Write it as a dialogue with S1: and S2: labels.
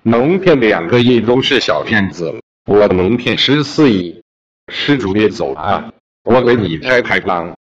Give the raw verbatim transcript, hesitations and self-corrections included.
S1: 能骗两个亿都是小骗子，我能骗十四亿。施主别走啊，我给你开开光。